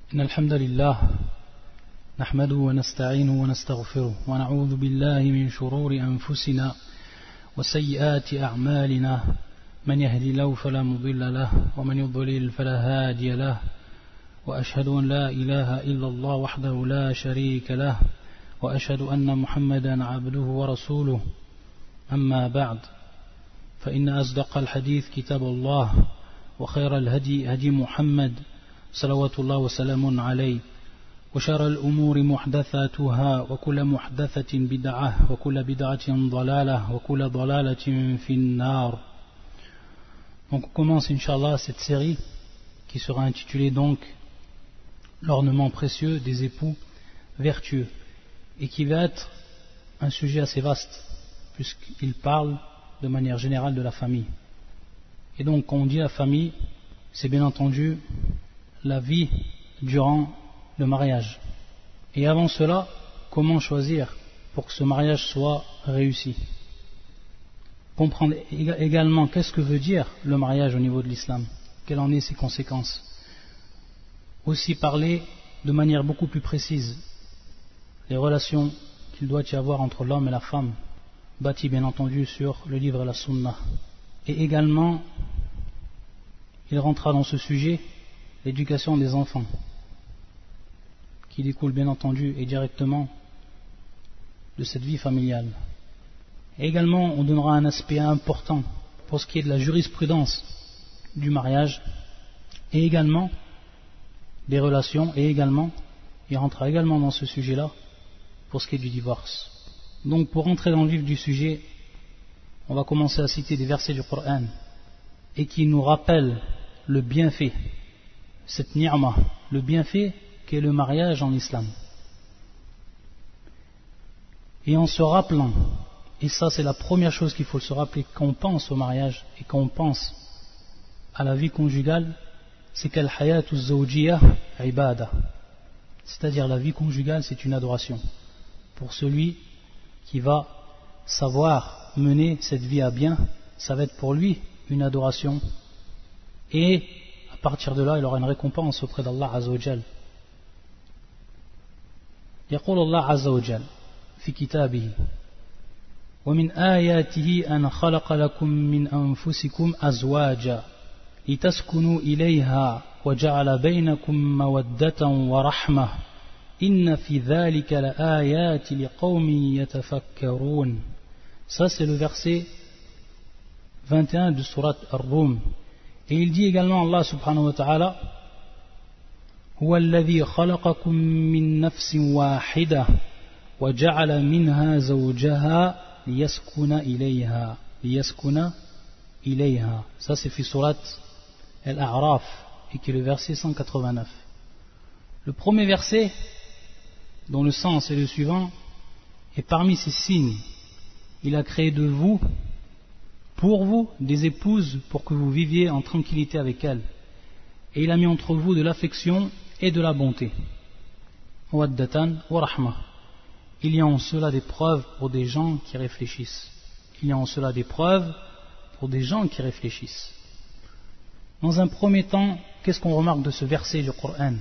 إن الحمد لله نحمده ونستعينه ونستغفره ونعوذ بالله من شرور أنفسنا وسيئات أعمالنا من يهدي الله فلا مضل له ومن يضلل فلا هادي له وأشهد أن لا إله إلا الله وحده لا شريك له وأشهد أن محمدا عبده ورسوله أما بعد فإن أصدق الحديث كتاب الله وخير الهدي هدي محمد صلوات الله وسلام عليه وشر الأمور محدثاتها وكل محدثة بدعة وكل بدعة ضلالة وكل ضلالة في النار. Donc on commence Inch'Allah cette série qui sera intitulée donc l'ornement précieux des époux vertueux et qui va être un sujet assez vaste puisqu'il parle de manière générale de la famille. Et donc quand on dit la famille, c'est bien entendu la vie durant le mariage. Et avant cela, comment choisir pour que ce mariage soit réussi? Comprendre également qu'est-ce que veut dire le mariage au niveau de l'islam, quelles en sont ses conséquences. Aussi parler de manière beaucoup plus précise les relations qu'il doit y avoir entre l'homme et la femme, bâties bien entendu sur le livre et la sunna. Et également, il rentrera dans ce sujet l'éducation des enfants, qui découle bien entendu et directement de cette vie familiale. Et également, on donnera un aspect important pour ce qui est de la jurisprudence du mariage, et également des relations, et également, il rentrera également dans ce sujet-là pour ce qui est du divorce. Donc, pour rentrer dans le vif du sujet, on va commencer à citer des versets du Coran, et qui nous rappellent le bienfait, cette ni'ma, le bienfait qu'est le mariage en islam. Et en se rappelant, et ça c'est la première chose qu'il faut se rappeler quand on pense au mariage et quand on pense à la vie conjugale, c'est qu'al hayatu zawjiyah ibada, c'est-à-dire la vie conjugale c'est une adoration pour celui qui va savoir mener cette vie à bien. Ça va être pour lui une adoration et à partir de là il aura une récompense auprès d'Allah Azza wa Jal. يقول الله عز وجل في كتابه ومن آياته أن خلق لكم من أنفسكم أزواجا لتسكنوا إليها وجعل بينكم مودة ورحمة إن في ذلك لآيات لقوم يتفكرون. Ça c'est le verset 21 de Surat Ar-Rum. Et il dit également Allah subhanahu wa ta'ala هو الذي خلقكم من نفس واحدة وجعل منها زوجها ليسكن إليها. Ça c'est في Surat Al-A'raf et qui est le verset 189. Le premier verset dont le sens est le suivant: et parmi ces signes il a créé de vous, pour vous, des épouses pour que vous viviez en tranquillité avec elles, et il a mis entre vous de l'affection et de la bonté. Waddatan wa rahma. Il y a en cela des preuves pour des gens qui réfléchissent. Dans un premier temps, qu'est-ce qu'on remarque de ce verset du Coran?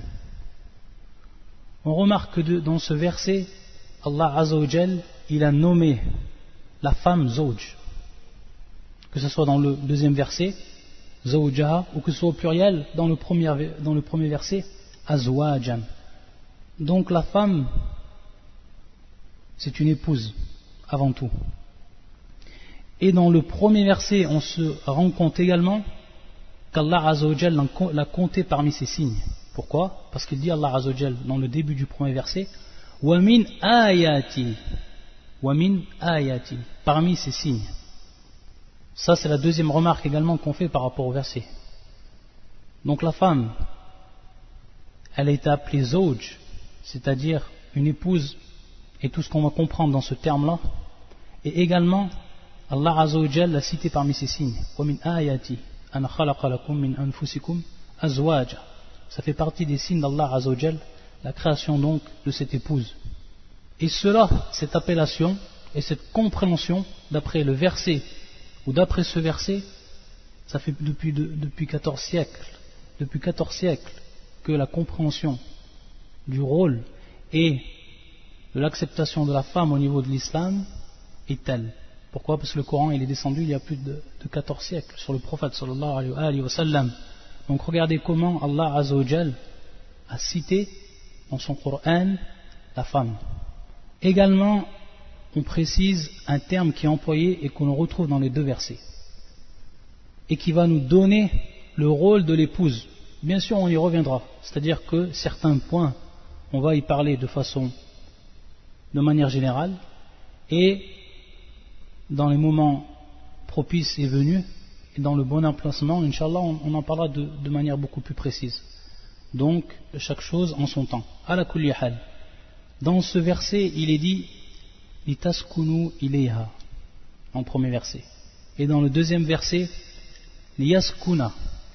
On remarque que dans ce verset, Allah Azza wa Jal, il a nommé la femme Zawj, que ce soit dans le deuxième verset Zawjaha, ou que ce soit au pluriel dans le premier verset Azwajan. Donc la femme c'est une épouse avant tout. Et dans le premier verset on se rend compte également qu'Allah Azza wa Jal l'a compté parmi ses signes. Pourquoi? Parce qu'il dit Allah Azza wa Jal dans le début du premier verset wa min ayati, parmi ses signes. Ça c'est la deuxième remarque également qu'on fait par rapport au verset. Donc la femme, elle a été appelée Zawj, c'est-à-dire une épouse, et tout ce qu'on va comprendre dans ce terme-là. Et également, Allah Azza wa Jal l'a cité parmi ses signes. وَمِنْ آيَاتِ أَنْ خَلَقَ لَكُم مِّنْ أَنفُسِكُمْ أَزْوَاجًا. Ça fait partie des signes d'Allah Azza wa Jal, la création donc de cette épouse. Et cela, cette appellation et cette compréhension, d'après le verset, ou d'après ce verset, ça fait depuis 14 siècles que la compréhension du rôle et de l'acceptation de la femme au niveau de l'islam est telle. Pourquoi? Parce que le Coran il est descendu il y a plus de 14 siècles sur le prophète sallallahu alayhi wa sallam. Donc regardez comment Allah Azza wa Jal a cité dans son Coran la femme. Également, on précise un terme qui est employé et qu'on retrouve dans les deux versets et qui va nous donner le rôle de l'épouse. Bien sûr, on y reviendra, c'est-à-dire que certains points, on va y parler de manière générale, et dans les moments propices et venus, et dans le bon emplacement, Inch'Allah, on en parlera de manière beaucoup plus précise. Donc, chaque chose en son temps. Ala kulli hal. Dans ce verset, il est dit litaskunu ilayha, en premier verset. Et dans le deuxième verset, liyaskuna.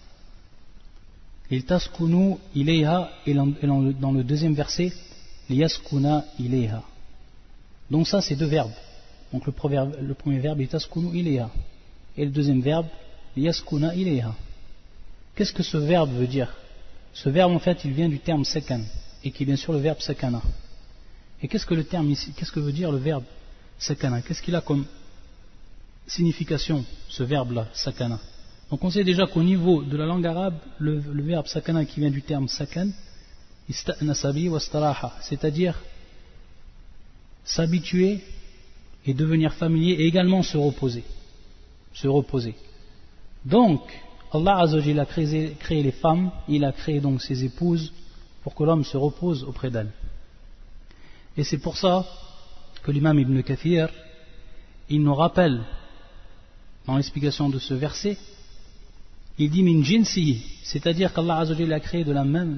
Litaskunu ilayha, et dans le deuxième verset, liyaskuna ilayha. Donc ça, c'est deux verbes. Donc le premier verbe, litaskunu ilayha. Et le deuxième verbe, liyaskuna ilayha. Qu'est-ce que ce verbe veut dire? Ce verbe, en fait, il vient du terme sakan, et qui est bien sûr le verbe sakana. Et qu'est-ce que le terme ici, qu'est-ce que veut dire le verbe sakana? Qu'est-ce qu'il a comme signification, ce verbe-là, sakana? Donc on sait déjà qu'au niveau de la langue arabe, le verbe sakana qui vient du terme sakan, ista'nasabi wa staraha, c'est-à-dire s'habituer et devenir familier et également se reposer. Se reposer. Donc, Allah Azza wa Jalla a créé les femmes, il a créé donc ses épouses pour que l'homme se repose auprès d'elles. Et c'est pour ça que l'imam Ibn Kathir, il nous rappelle dans l'explication de ce verset, il dit min jinsi, c'est-à-dire qu'Allah Azza wa Jalla a créé de la même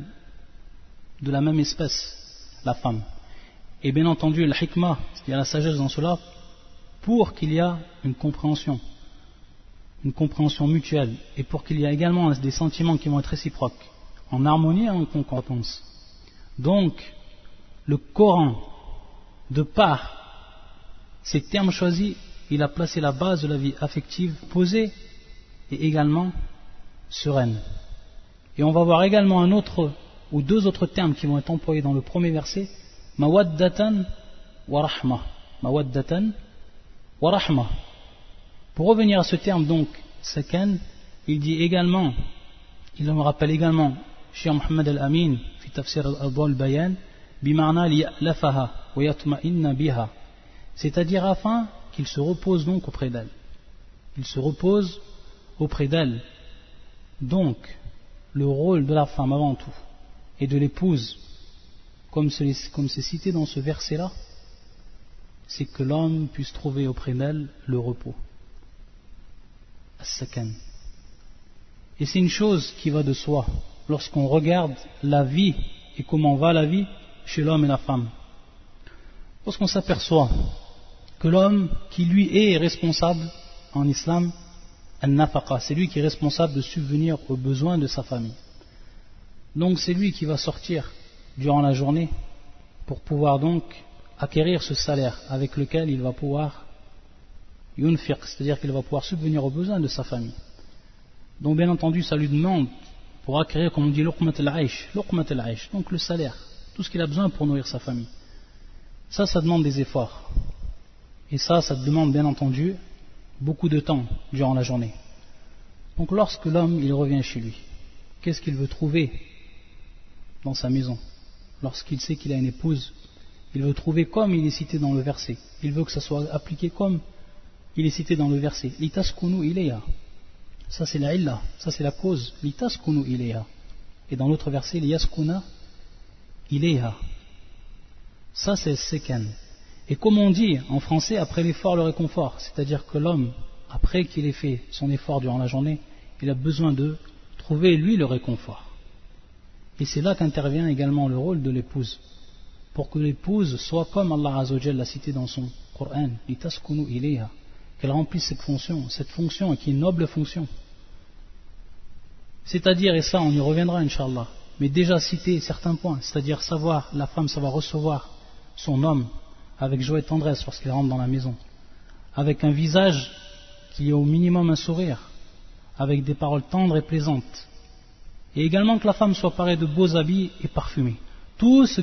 espèce la femme. Et bien entendu, le hikmah, il y a la sagesse dans cela, pour qu'il y ait une compréhension mutuelle, et pour qu'il y ait également des sentiments qui vont être réciproques, en harmonie et en concordance. Donc, le Coran, de par ces termes choisis, il a placé la base de la vie affective posée et également sereine. Et on va voir également un autre ou deux autres termes qui vont être employés dans le premier verset, mawaddatan wa rahma. Mawaddatan wa rahma. Pour revenir à ce terme donc, sakan, il dit également, il me rappelle également, Cheikh Mohammed al-Amin, fi tafsir al-Adwa al-Bayan, bima'na liya'lafaha wa yatma'inna biha. C'est-à-dire afin qu'il se repose donc auprès d'elle. Il se repose auprès d'elle. Donc, le rôle de la femme avant tout, et de l'épouse, comme c'est cité dans ce verset-là, c'est que l'homme puisse trouver auprès d'elle le repos. As-sakan. Et c'est une chose qui va de soi lorsqu'on regarde la vie et comment va la vie chez l'homme et la femme. Lorsqu'on s'aperçoit que l'homme qui lui est responsable en islam, al-nafaqa, c'est lui qui est responsable de subvenir aux besoins de sa famille. Donc c'est lui qui va sortir durant la journée pour pouvoir donc acquérir ce salaire avec lequel il va pouvoir yunfiq, c'est-à-dire qu'il va pouvoir subvenir aux besoins de sa famille. Donc bien entendu ça lui demande pour acquérir, comme on dit, luqmat al-aish, donc le salaire, tout ce qu'il a besoin pour nourrir sa famille. Ça demande des efforts. Et ça demande bien entendu beaucoup de temps durant la journée. Donc lorsque l'homme il revient chez lui, qu'est-ce qu'il veut trouver dans sa maison? Lorsqu'il sait qu'il a une épouse, il veut trouver comme il est cité dans le verset. Il veut que ça soit appliqué comme il est cité dans le verset. Litaskunu ilayha. Ça c'est la illa, ça c'est la cause. Litaskunu ilayha. Et dans l'autre verset, liyaskuna ilayha. Ça c'est sekan. Et comme on dit en français, après l'effort le réconfort. C'est-à-dire que l'homme, après qu'il ait fait son effort durant la journée, il a besoin de trouver lui le réconfort. Et c'est là qu'intervient également le rôle de l'épouse. Pour que l'épouse soit comme Allah Azza wa Jalla l'a cité dans son Coran, litaskunu ilayha, qu'elle remplisse cette fonction qui est une noble fonction. C'est-à-dire, et ça on y reviendra Inch'Allah, mais déjà citer certains points, c'est-à-dire savoir, la femme ça va recevoir son homme avec joie et tendresse lorsqu'il rentre dans la maison, avec un visage qui est au minimum un sourire, avec des paroles tendres et plaisantes, et également que la femme soit parée de beaux habits et parfumée. tout ce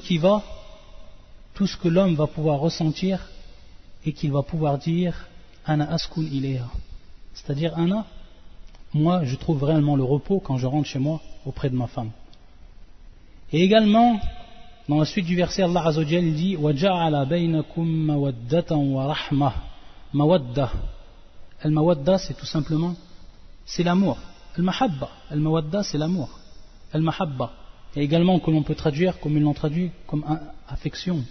que l'homme va pouvoir ressentir et qu'il va pouvoir dire ana askun ilayha, c'est-à-dire ana, moi je trouve réellement le repos quand je rentre chez moi auprès de ma femme. Et également dans la suite du verset, Allah Azza wa Jalla dit wa ja'ala bainakum mawaddatan wa rahmah. Mawadda, al-mawadda c'est tout simplement c'est l'amour. Al-mahabba, al-mawadda c'est l'amour. Al-mahabba, et également que l'on peut traduire comme ils l'ont traduit comme affection.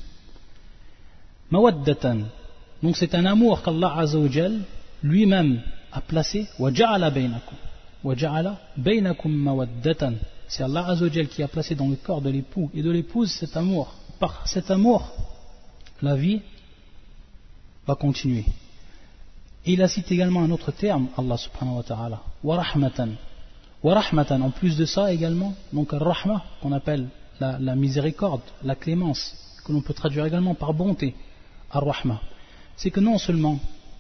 Mawaddatan, donc c'est un amour qu'Allah Azza wa Jalla lui-même a placé. Wa ja'ala bainakum mawaddatan, c'est Allah Azza wa Jalla qui a placé dans le corps de l'époux et de l'épouse cet amour. Par cet amour, la vie va continuer. Et il a cité également un autre terme, Allah subhanahu wa ta'ala, wa rahmatan. Wa rahmatan, en plus de ça également, donc al-rahma, qu'on appelle la miséricorde, la clémence, que l'on peut traduire également par bonté, al-rahma. C'est que non seulement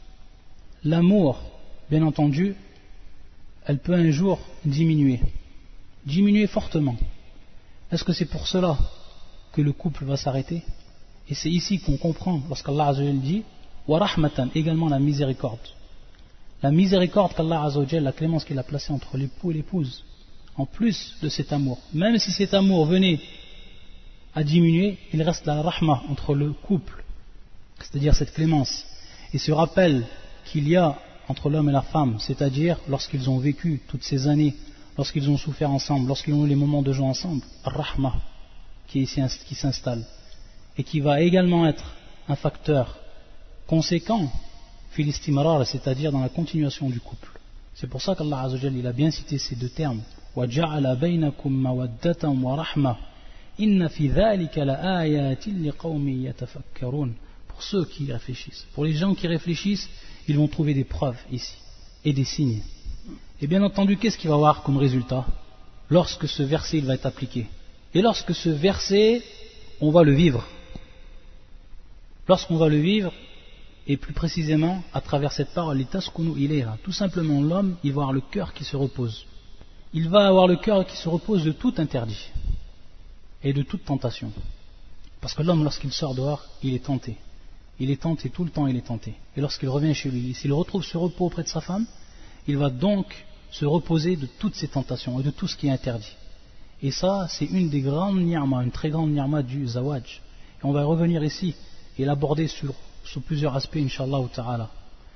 l'amour, bien entendu, elle peut un jour diminuer fortement. Est-ce que c'est pour cela que le couple va s'arrêter? Et c'est ici qu'on comprend, lorsqu'Allah Azza wa Jalla dit wa rahmatan, également la miséricorde qu'Allah Azza wa Jalla, la clémence qu'il a placée entre l'époux et l'épouse, en plus de cet amour. Même si cet amour venait à diminuer, il reste la rahma entre le couple, c'est-à-dire cette clémence, et ce rappel qu'il y a entre l'homme et la femme, c'est-à-dire lorsqu'ils ont vécu toutes ces années, lorsqu'ils ont souffert ensemble, lorsqu'ils ont eu les moments de joie ensemble, rahma qui s'installe et qui va également être un facteur conséquent fil istimrar, c'est-à-dire dans la continuation du couple. C'est pour ça qu'Allah Azza wa Jalla, il a bien cité ces deux termes, wa ja'ala bainakum mawaddatan wa rahma inna fi dhalika la ayatin liqaumin yatafakkarun. Pour ceux qui réfléchissent, pour les gens qui réfléchissent, ils vont trouver des preuves ici et des signes. Et bien entendu, qu'est-ce qu'il va y avoir comme résultat lorsque ce verset il va être appliqué? Et lorsque ce verset, on va le vivre. Lorsqu'on va le vivre, et plus précisément à travers cette parole, litaskunu ilayha, tout simplement l'homme, il va avoir le cœur qui se repose. Il va avoir le cœur qui se repose de tout interdit et de toute tentation. Parce que l'homme, lorsqu'il sort dehors, il est tenté. Il est tenté, tout le temps il est tenté. Et lorsqu'il revient chez lui, s'il retrouve ce repos auprès de sa femme, il va donc se reposer de toutes ces tentations et de tout ce qui est interdit. Et ça, c'est une des grandes ni'ma, une très grande ni'ma du zawaj. Et on va revenir ici et l'aborder sur plusieurs aspects, Inch'Allah ta'ala.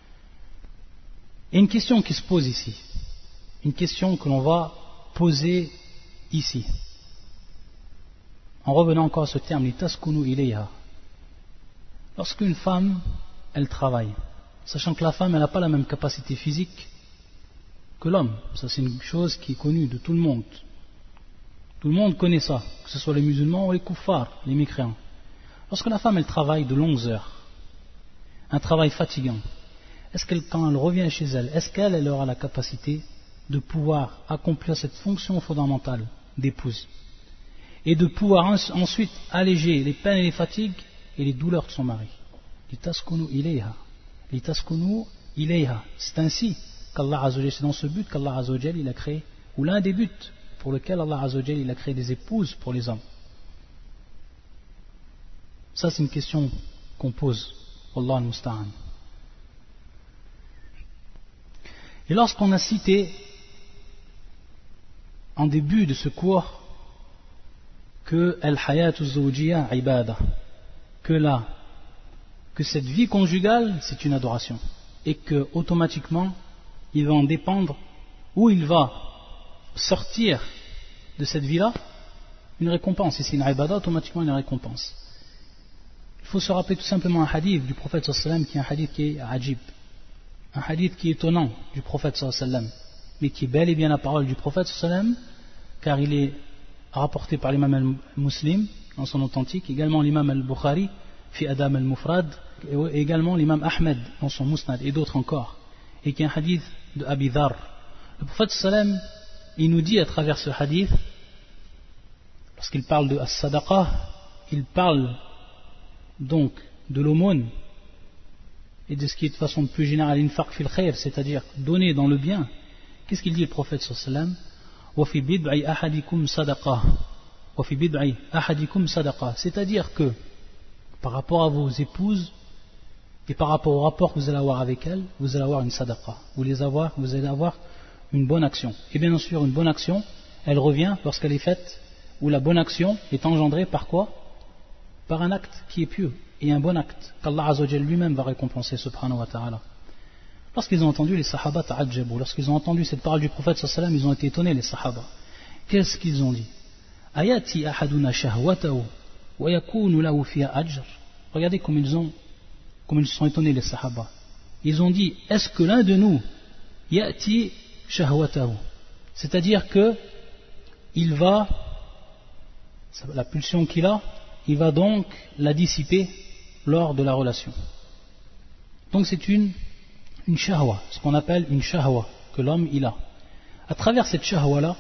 Et une question qui se pose ici, une question que l'on va poser ici, en revenant encore à ce terme, litaskunu ilayha. Lorsqu'une femme, elle travaille, sachant que la femme, elle n'a pas la même capacité physique que l'homme, ça c'est une chose qui est connue de tout le monde. Tout le monde connaît ça, que ce soit les musulmans ou les kuffars, les mécréants. Lorsque la femme, elle travaille de longues heures, un travail fatigant, est-ce qu'elle, quand elle revient chez elle, est-ce qu'elle aura la capacité de pouvoir accomplir cette fonction fondamentale d'épouse et de pouvoir ensuite alléger les peines et les fatigues et les douleurs de son mari? Litaskunu ilayha. C'est ainsi qu'Allah Azza wa Jalla, c'est dans ce but qu'Allah Azza wa Jalla, il a créé, ou l'un des buts pour lequel Allah Azza wa Jalla, il a créé des épouses pour les hommes. Ça c'est une question qu'on pose. Wallah al-musta'an. Et lorsqu'on a cité en début de ce cours que al-hayatu zawjiyya ibada, que cette vie conjugale c'est une adoration et que automatiquement il va en dépendre, ou il va sortir de cette vie-là une récompense, et c'est une ibada, automatiquement une récompense. Il faut se rappeler tout simplement un hadith du prophète sallallahu alayhi wa sallam, qui est un hadith qui est ajib, un hadith qui est étonnant du prophète sallallahu alayhi wa sallam, mais qui est bel et bien la parole du prophète sallallahu alayhi wa sallam, car il est rapporté par l'imam al-Muslim dans son authentique, également l'imam al-Bukhari fi Adam al-Mufrad, et également l'imam Ahmed dans son Musnad, et d'autres encore, et qui est un hadith de Abi Dharr. Le prophète sallallahu alayhi wa sallam, il nous dit à travers ce hadith, lorsqu'il parle de as-sadaqa, il parle donc de l'aumône et de ce qui est de façon plus générale infaq fil khair, c'est-à-dire donner dans le bien. Qu'est-ce qu'il dit le prophète sallallahu alayhi wa sallam? Wa fi bid'i ahadikum sadaqa, وَفِي بِضْعِ أَحَدِكُمْ صَدَقَةٌ. C'est-à-dire que par rapport à vos épouses et par rapport au rapport que vous allez avoir avec elles, vous allez avoir une sadaqa. Vous allez avoir une bonne action. Et bien sûr, une bonne action, elle revient lorsqu'elle est faite, ou la bonne action est engendrée par quoi? Par un acte qui est pieux, et un bon acte, qu'Allah Azza wa Jalla lui-même va récompenser, subhanahu wa ta'ala. Lorsqu'ils ont entendu les sahaba ta'ajjabu, lorsqu'ils ont entendu cette parole du prophète sallallahu alayhi wa sallam, ils ont été étonnés, les sahaba. Qu'est-ce qu'ils ont dit? Ayati ahaduna shahwatahu wa yakunu lahu fiha ajr. Regardez comme ils se sont étonnés, les sahaba. Ils ont dit, est-ce que l'un de nous yati shahwatahu, c'est-à-dire que il va, la pulsion qu'il a, il va donc la dissiper lors de la relation. Donc c'est une shahwa, ce qu'on appelle une shahwa que l'homme il a. À travers cette shahwa là,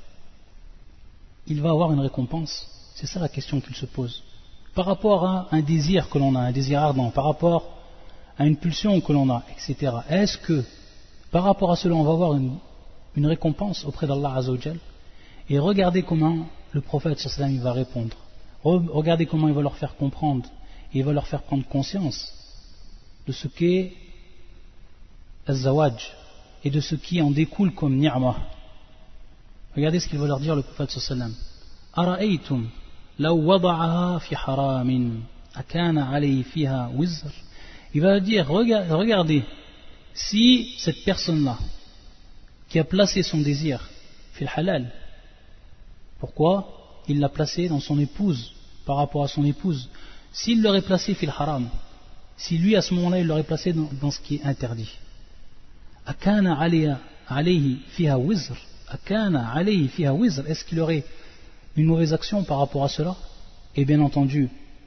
il va avoir une récompense. C'est ça la question qu'il se pose. Par rapport à un désir que l'on a, un désir ardent, par rapport à une pulsion que l'on a, etc. Est-ce que par rapport à cela on va avoir une récompense auprès d'Allah Azza wa Jal? Et regardez comment le prophète sallallahu alayhi wa sallam il va répondre. Regardez comment il va leur faire comprendre et il va leur faire prendre conscience de ce qu'est az-zawaj et de ce qui en découle comme ni'mah. Regardez ce qu'il va leur dire le prophète sallallahu alayhi wa sallam. Ara'aytum law wada'aha fi haramin akana alayhi fiha wizr. Il va dire, regardez, si cette personne-là qui a placé son désir fil halal, pourquoi il l'a placé dans son épouse, par rapport à son épouse? S'il l'aurait placé fil haram, si lui à ce moment-là il l'aurait placé dans ce qui est interdit, akana alayhi fiha wizr, akana alayhi fiha wizr, est-ce qu'il aurait une mauvaise action par rapport à cela? Et bien entendu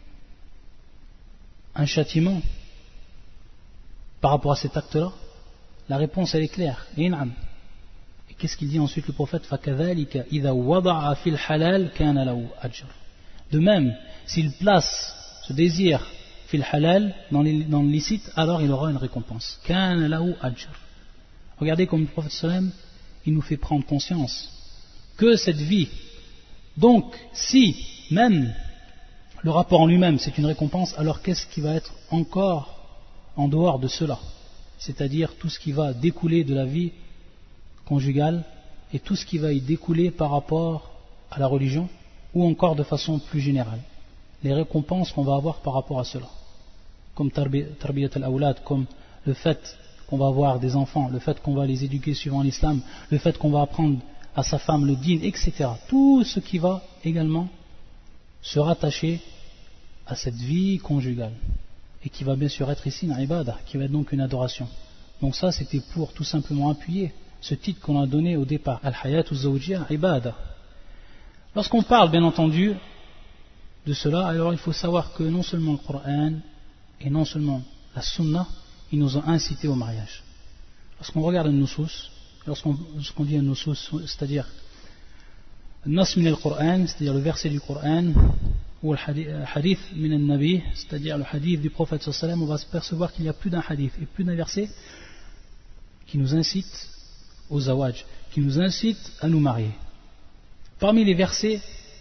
un châtiment par rapport à cet acte-là? La réponse elle est claire. Et qu'est-ce qu'il dit ensuite le prophète? فَكَذَلِكَ إِذَا وَضَعَ فِي الْحَلَالِ كَانَ لَهُ أَجْرٌ. De même, s'il place ce désir fil halal dans le licite, alors il aura une récompense. كَانَ لَهُ أَجْرٌ. Regardez comme le prophète sallam il nous fait prendre conscience que cette vie, donc si même le rapport en lui-même c'est une récompense, alors qu'est-ce qui va être encore en dehors de cela, c'est-à-dire tout ce qui va découler de la vie conjugale et tout ce qui va y découler par rapport à la religion, ou encore de façon plus générale, les récompenses qu'on va avoir par rapport à cela, comme tarbiyat al-awlad, comme le fait qu'on va avoir des enfants, le fait qu'on va les éduquer suivant l'islam, le fait qu'on va apprendre à sa femme le dîn, etc. Tout ce qui va également se rattacher à cette vie conjugale et qui va bien sûr être ici une ibadah, qui va être donc une adoration. Donc ça c'était pour tout simplement appuyer ce titre qu'on a donné au départ, Al-Hayatu Zawjiyya Ibadah. Lorsqu'on parle bien entendu de cela, alors il faut savoir que non seulement le Coran et non seulement la Sunna, ils nous ont incité au mariage. Lorsqu'on regarde un nusus, lorsqu'on dit un nusus, c'est-à-dire Nas min al-Qur'an, c'est-à-dire le verset du Coran, ou le hadith min al-Nabi, c'est-à-dire le hadith du prophète sallallahu alayhi wa sallam, on va se percevoir qu'il y a plus d'un hadith et plus d'un verset qui nous incite au zawaj, qui nous incite à nous marier. Parmi les versets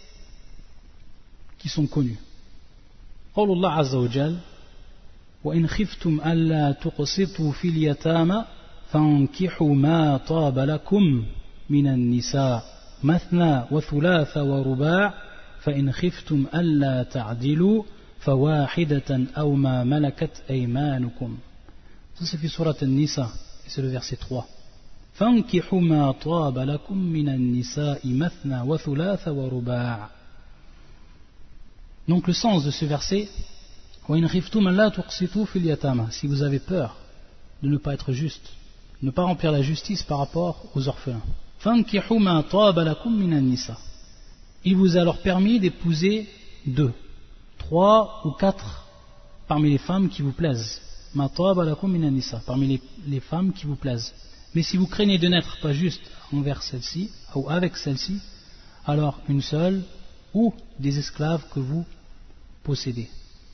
qui sont connus, قول الله عز وجل وإن خفتم ألا تقسطوا في اليتامى فانكحوا ما طاب لكم من النساء مثنى وثلاث ورباع فإن خفتم ألا تعدلوا فواحدة أو ما ملكت أيمانكم. Ça c'est في سورة النساء et c'est le verset 3. فانكحوا ما طاب لكم من النساء مثنى وثلاث ورباع. Donc le sens de ce verset, si vous avez peur de ne pas être juste, de ne pas remplir la justice par rapport aux orphelins, il vous est alors permis d'épouser 2, 3 ou 4 parmi les femmes qui vous plaisent, parmi les femmes qui vous plaisent. Mais si vous craignez de n'être pas juste envers celle-ci ou avec celle-ci, alors une seule ou des esclaves que vous possédez.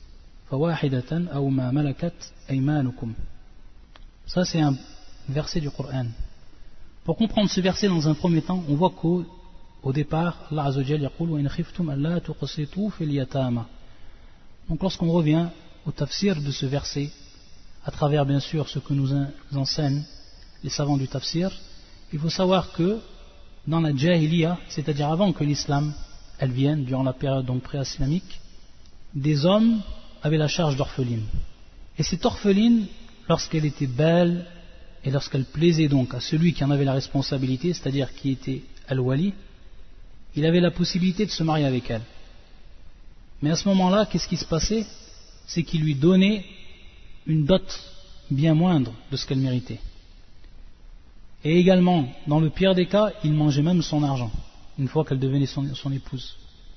Ça c'est un verset du Coran. Pour comprendre ce verset dans un premier temps, on voit que au départ, Allah Azza wa Jalla yaqul wa in khiftum alla tuqsitu fil yatama. Donc lorsqu'on revient au tafsir de ce verset, à travers bien sûr ce que nous enseignent les savants du tafsir, il faut savoir que dans la jahiliya, c'est-à-dire avant que l'islam elle vienne, durant la période donc pré-islamique, des hommes avaient la charge d'orpheline. Et cette orpheline, lorsqu'elle était belle et lorsqu'elle plaisait donc à celui qui en avait la responsabilité, c'est-à-dire qui était al-wali, il avait la possibilité de se marier avec elle. Mais à ce moment-là, qu'est-ce qui se passait? C'est qu'il lui donnait une dot bien moindre de ce qu'elle méritait. Et également, dans le pire des cas, il mangeait même son argent, une fois qu'elle devenait son épouse.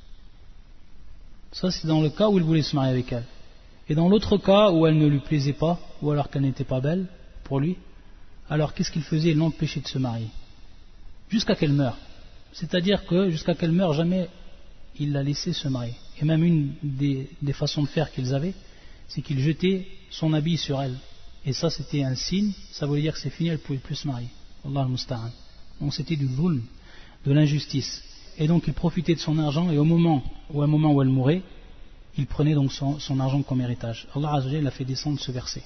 Ça, c'est dans le cas où il voulait se marier avec elle. Et dans l'autre cas où elle ne lui plaisait pas, ou alors qu'elle n'était pas belle pour lui, alors qu'est-ce qu'il faisait? Il l'empêchait de se marier. Jusqu'à qu'elle meure. C'est-à-dire que jusqu'à qu'elle meure, jamais il la laissait se marier. Et même une des façons de faire qu'ils avaient, c'est qu'il jetait son habit sur elle. Et ça, c'était un signe, ça voulait dire que c'est fini, elle ne pouvait plus se marier. Allah al-Musta'an. Donc c'était du zulm, de l'injustice. Et donc il profitait de son argent, et au moment où elle mourait, il prenait donc son argent comme héritage. Allah Azza wa Jalla a fait descendre ce verset.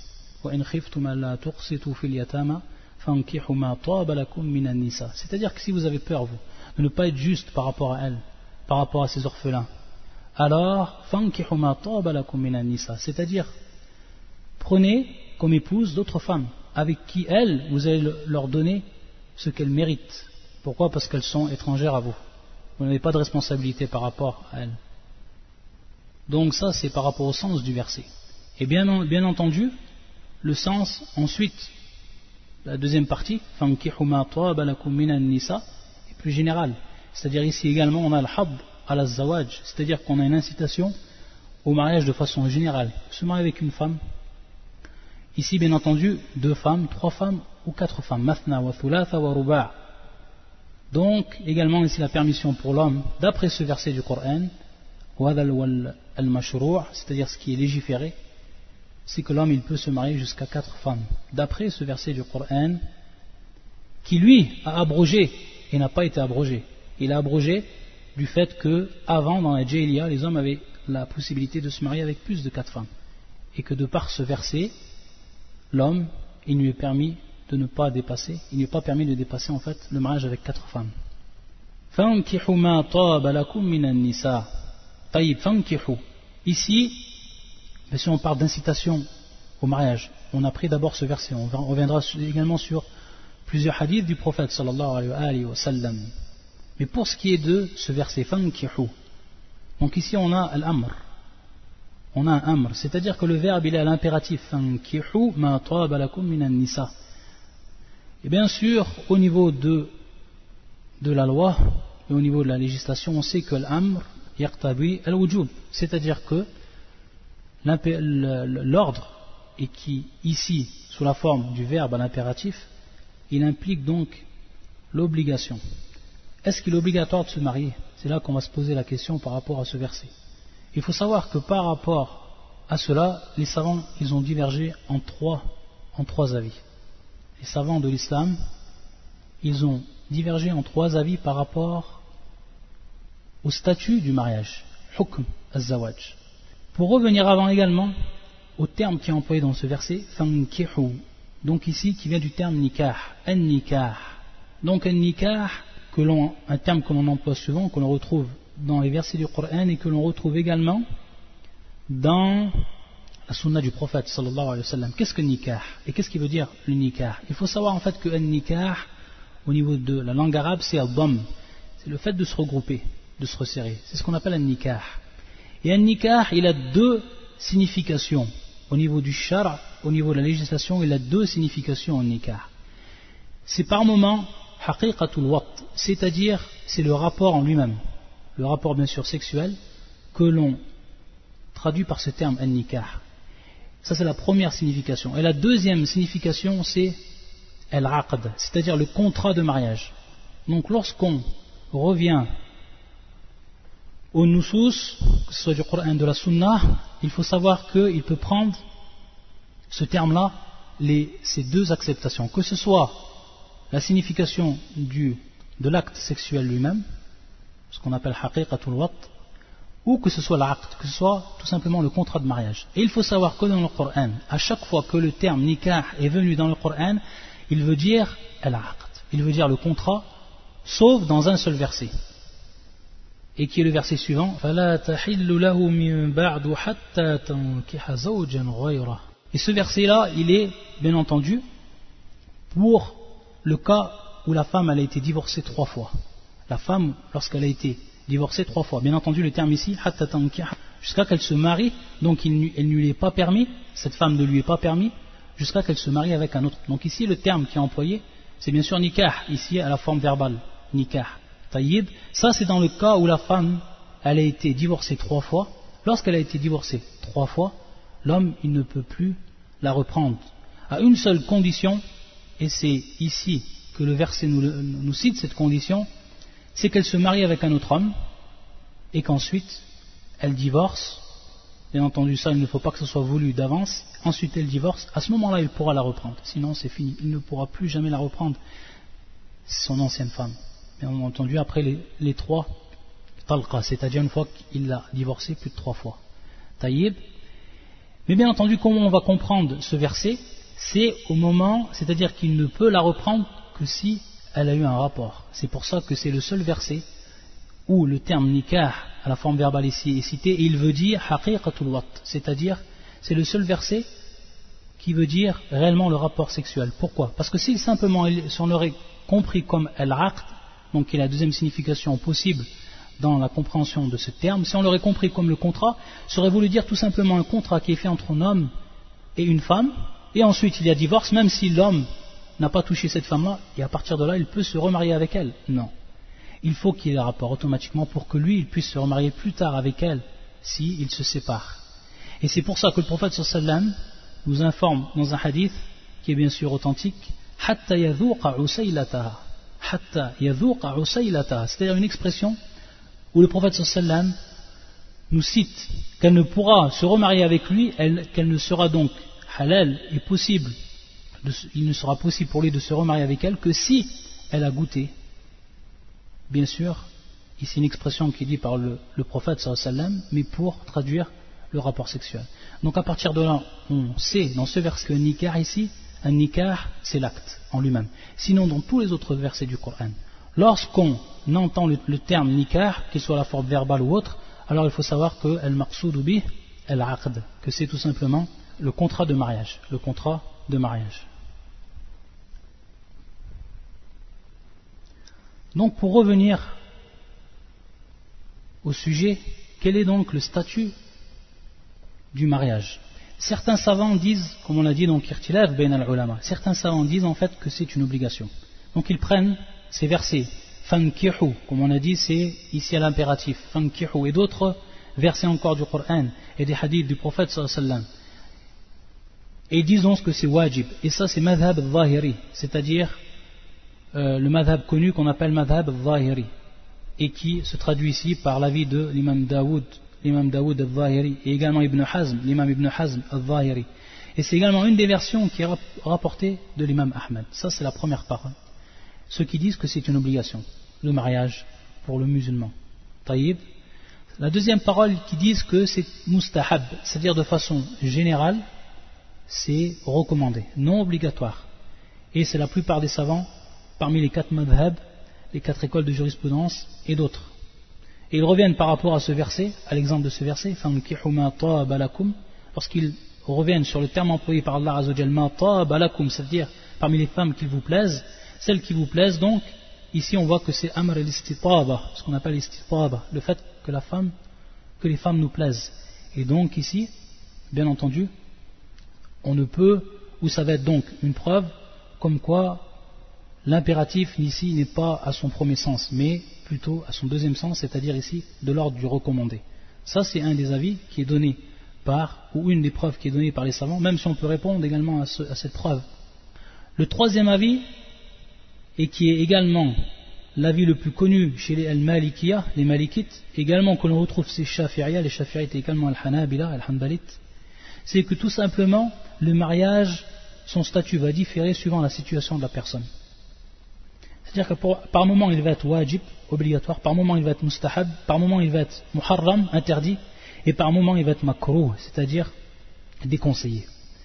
C'est-à-dire que si vous avez peur, vous, de ne pas être juste par rapport à elle, par rapport à ses orphelins, alors c'est-à-dire prenez comme épouse d'autres femmes avec qui elles, vous allez leur donner ce qu'elles méritent. Pourquoi? Parce qu'elles sont étrangères à vous. Vous n'avez pas de responsabilité par rapport à elles. Donc ça, c'est par rapport au sens du verset. Et bien entendu, le sens ensuite, la deuxième partie, est plus général. C'est-à-dire ici également, on a al-hab al-zawaj, c'est-à-dire qu'on a une incitation au mariage de façon générale. Se marier avec une femme. Ici, bien entendu, 2 femmes, 3 femmes ou 4 femmes. Mathna wa thulatha wa ruba'. Donc, également ici la permission pour l'homme, d'après ce verset du Coran, c'est-à-dire ce qui est légiféré, c'est que l'homme il peut se marier jusqu'à 4 femmes. D'après ce verset du Coran, qui lui a abrogé et n'a pas été abrogé. Il a abrogé du fait que avant dans la Jahiliya, les hommes avaient la possibilité de se marier avec plus de 4 femmes. Et que de par ce verset, l'homme, il lui est permis de ne pas dépasser, il n'est pas permis de dépasser en fait le mariage avec 4 femmes. فَانْكِحُوا مَا طَابَ لَكُم مِّنَ النِّسَاءِ. طيب, فَانْكِحُوا. Ici, si on parle d'incitation au mariage, on a pris d'abord ce verset, on reviendra également sur plusieurs hadiths du prophète sallallahu alayhi wa sallam. Mais pour ce qui est de ce verset, فَانْكِحُوا, donc ici on a al-amr, on a un amr, c'est-à-dire que le verbe il est à l'impératif, فَانْكِحُوا مَا طَابَ لَكُم مِّنَ النِّسَاءِ. Et bien sûr, au niveau de la loi et au niveau de la législation, on sait que l'amr yaqtabi al-wujub, c'est-à-dire que l'ordre, et qui ici, sous la forme du verbe à l'impératif, il implique donc l'obligation. Est-ce qu'il est obligatoire de se marier? C'est là qu'on va se poser la question par rapport à ce verset. Il faut savoir que par rapport à cela, les savants ils ont divergé en trois avis. Les savants de l'islam, ils ont divergé en 3 avis par rapport au statut du mariage, hukm az-zawaj. Pour revenir avant également au terme qui est employé dans ce verset, fankihu, donc ici qui vient du terme nikah, an-nikah. Donc an-nikah, un terme que l'on emploie souvent, que l'on retrouve dans les versets du Coran et que l'on retrouve également dans la sunna du prophète sallallahu alayhi wa sallam. Qu'est-ce que nikah? Et qu'est-ce qui veut dire le nikah? Il faut savoir en fait que un nikah, au niveau de la langue arabe, c'est al-dam. C'est le fait de se regrouper, de se resserrer. C'est ce qu'on appelle un nikah. Et un nikah, il a 2 significations. Au niveau du shar', au niveau de la législation, il a 2 significations en nikah. C'est par moment haqiqatul waqt, c'est-à-dire c'est le rapport en lui-même. Le rapport bien sûr sexuel que l'on traduit par ce terme an-nikah. Ça c'est la première signification. Et la deuxième signification c'est al-aqd, c'est-à-dire le contrat de mariage. Donc lorsqu'on revient au nusus, que ce soit du Coran, de la Sunna, il faut savoir qu'il peut prendre ce terme-là, ces 2 acceptations, que ce soit la signification de l'acte sexuel lui-même, ce qu'on appelle haqiqatul wat, ou que ce soit l'aqd, que ce soit tout simplement le contrat de mariage. Et il faut savoir que dans le Coran, à chaque fois que le terme nikah est venu dans le Coran, il veut dire al-aqd, il veut dire le contrat, sauf dans un seul verset, et qui est le verset suivant. Et ce verset-là, il est bien entendu pour le cas où la femme elle a été divorcée 3 fois. La femme, lorsqu'elle a été divorcée 3 fois, bien entendu le terme ici, jusqu'à qu'elle se marie, donc elle ne lui est pas permis, cette femme ne lui est pas permis, jusqu'à qu'elle se marie avec un autre. Donc ici le terme qui est employé, c'est bien sûr nikah, ici à la forme verbale, nikah, tayyib. Ça c'est dans le cas où la femme, elle a été divorcée 3 fois. Lorsqu'elle a été divorcée 3 fois, l'homme il ne peut plus la reprendre, à une seule condition, et c'est ici que le verset nous cite cette condition, c'est qu'elle se marie avec un autre homme et qu'ensuite elle divorce. Bien entendu ça, il ne faut pas que ce soit voulu d'avance. Ensuite elle divorce, à ce moment-là il pourra la reprendre, sinon c'est fini, il ne pourra plus jamais la reprendre, son ancienne femme. Bien entendu après les 3 talqa, c'est-à-dire une fois qu'il l'a divorcée plus de 3 fois. Taïb. Mais bien entendu, comment on va comprendre ce verset? C'est au moment, c'est-à-dire qu'il ne peut la reprendre que si elle a eu un rapport. C'est pour ça que c'est le seul verset où le terme nikah à la forme verbale ici est cité, et il veut dire haqiqatul wat, c'est-à-dire c'est le seul verset qui veut dire réellement le rapport sexuel. Pourquoi? Parce que si simplement si on aurait compris comme al-aqd, donc qui est la deuxième signification possible dans la compréhension de ce terme, si on l'aurait compris comme le contrat, ça aurait voulu dire tout simplement un contrat qui est fait entre un homme et une femme, et ensuite il y a divorce, même si l'homme n'a pas touché cette femme-là, et à partir de là il peut se remarier avec elle. Non. Il faut qu'il y ait un rapport automatiquement pour que lui il puisse se remarier plus tard avec elle s'il se sépare. Et c'est pour ça que le prophète sallam nous informe dans un hadith qui est bien sûr authentique, hatta yadhuqa usaylataha, c'est-à-dire une expression où le prophète sallam nous cite qu'elle ne pourra se remarier avec lui, qu'elle ne sera donc halal et possible, il ne sera possible pour lui de se remarier avec elle que si elle a goûté. Bien sûr, ici une expression qui est dite par le prophète sallam, mais pour traduire le rapport sexuel. Donc à partir de là, on sait dans ce verset que nikah ici, un nikah c'est l'acte en lui-même. Sinon dans tous les autres versets du Coran, lorsqu'on entend le terme nikah, qu'il soit la forme verbale ou autre, alors il faut savoir que al-maqsoud bih al-aqd, que c'est tout simplement le contrat de mariage, le contrat de mariage. Donc pour revenir au sujet, quel est donc le statut du mariage? Certains savants disent, comme on l'a dit, donc irtilaf bain al-ulama, certains savants disent en fait que c'est une obligation. Donc ils prennent ces versets, fankihu, comme on a dit, c'est ici à l'impératif, fankihu, et d'autres versets encore du Coran et des hadiths du prophète sallallahu alayhi wa sallam, et ils disent donc que c'est wajib, et ça c'est madhab al-zahiri, c'est-à-dire le madhab connu qu'on appelle madhab al-zahiri, et qui se traduit ici par l'avis de l'imam Daoud al-Zahiri, et également l'imam Ibn Hazm al-Zahiri. Et c'est également une des versions qui est rapportée de l'imam Ahmed. Ça c'est la première parole. Ceux qui disent que c'est une obligation, le mariage pour le musulman. Taïb. La deuxième parole qui disent que c'est mustahab, c'est-à-dire de façon générale, c'est recommandé, non obligatoire. Et c'est la plupart des savants, parmi les 4 madhab, les 4 écoles de jurisprudence et d'autres. Et ils reviennent par rapport à ce verset, à l'exemple de ce verset, lorsqu'ils reviennent sur le terme employé par Allah Azzawajal, ma taaba lakum, c'est-à-dire parmi les femmes qui vous plaisent, celles qui vous plaisent, donc ici on voit que c'est amr al-istitaba, ce qu'on appelle l'istitaba, le fait que les femmes nous plaisent. Et donc ici, bien entendu, on ne peut, ou ça va être donc une preuve comme quoi l'impératif ici n'est pas à son premier sens, mais plutôt à son deuxième sens, c'est-à-dire ici de l'ordre du recommandé. Ça c'est un des avis qui est donné ou une des preuves qui est donnée par les savants, même si on peut répondre également à cette preuve. Le troisième avis, et qui est également l'avis le plus connu chez les al-Malikiyah, les Malikites, également que l'on retrouve chez Shafi'iyah, les Shafi'ites également al-Hanabila, al-Hanbalites, c'est que tout simplement le mariage, son statut va différer suivant la situation de la personne. C'est-à-dire que par moment il va être wajib, obligatoire, par moment il va être mustahab, par moment il va être muharram, interdit, et par moment il va être makruh, c'est-à-dire déconseillé.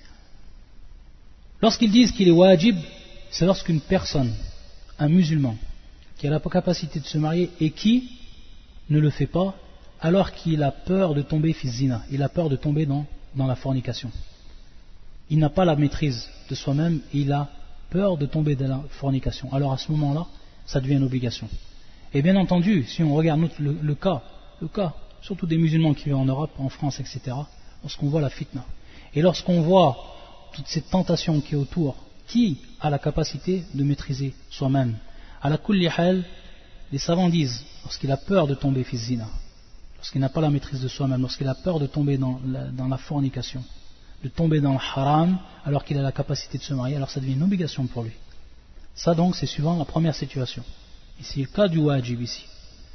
Lorsqu'ils disent qu'il est wajib, c'est lorsqu'une personne, un musulman, qui a la capacité de se marier et qui ne le fait pas, alors qu'il a peur de tomber fi zina, il a peur de tomber dans la fornication. Il n'a pas la maîtrise de soi-même, il a peur de tomber dans la fornication. Alors à ce moment-là, ça devient une obligation. Et bien entendu, si on regarde le cas, surtout des musulmans qui vivent en Europe, en France, etc., lorsqu'on voit la fitna, et lorsqu'on voit toute cette tentation qui est autour, qui a la capacité de maîtriser soi-même? À la kulli hal, les savants disent, lorsqu'il a peur de tomber fi zina, lorsqu'il n'a pas la maîtrise de soi-même, lorsqu'il a peur de tomber dans la fornication, de tomber dans le haram, alors qu'il a la capacité de se marier, alors ça devient une obligation pour lui. Ça donc, c'est suivant la première situation. Ici, le cas du wajib ici.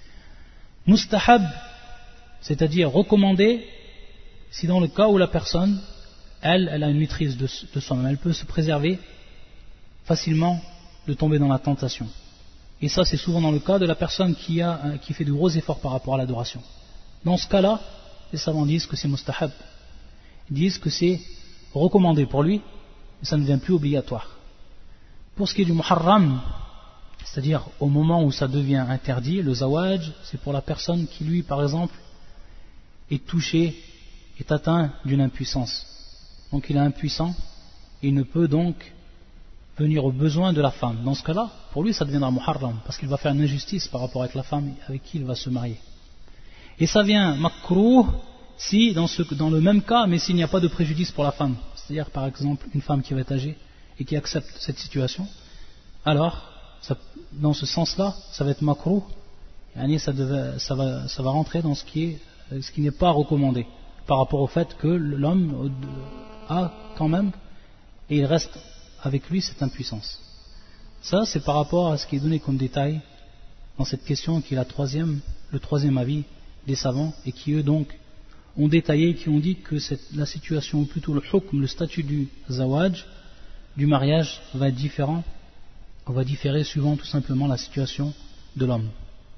Mustahab, c'est-à-dire recommandé, si dans le cas où la personne, elle a une maîtrise de soi-même, elle peut se préserver facilement de tomber dans la tentation. Et ça, c'est souvent dans le cas de la personne qui fait de gros efforts par rapport à l'adoration. Dans ce cas-là, les savants disent que c'est mustahab. Ils disent que c'est recommandé pour lui, mais ça ne devient plus obligatoire. Pour ce qui est du muharram, c'est-à-dire au moment où ça devient interdit, le zawaj, c'est pour la personne qui, lui, par exemple, est touché, est atteint d'une impuissance. Donc il est impuissant, et il ne peut donc venir aux besoins de la femme. Dans ce cas-là, pour lui, ça deviendra muharram, parce qu'il va faire une injustice par rapport avec la femme avec qui il va se marier. Et ça vient makruh si, dans le même cas, mais s'il n'y a pas de préjudice pour la femme. C'est-à-dire, par exemple, une femme qui va être âgée et qui accepte cette situation, alors, dans ce sens-là, ça va être makruh, ça va rentrer dans ce qui n'est pas recommandé, par rapport au fait que l'homme a quand même, et il reste avec lui cette impuissance. Ça, c'est par rapport à ce qui est donné comme détail dans cette question qui est le troisième avis des savants, et qui eux donc ont détaillé, qui ont dit que la situation, ou plutôt le hukm, le statut du zawaj, du mariage, va être différent, va différer suivant tout simplement la situation de l'homme.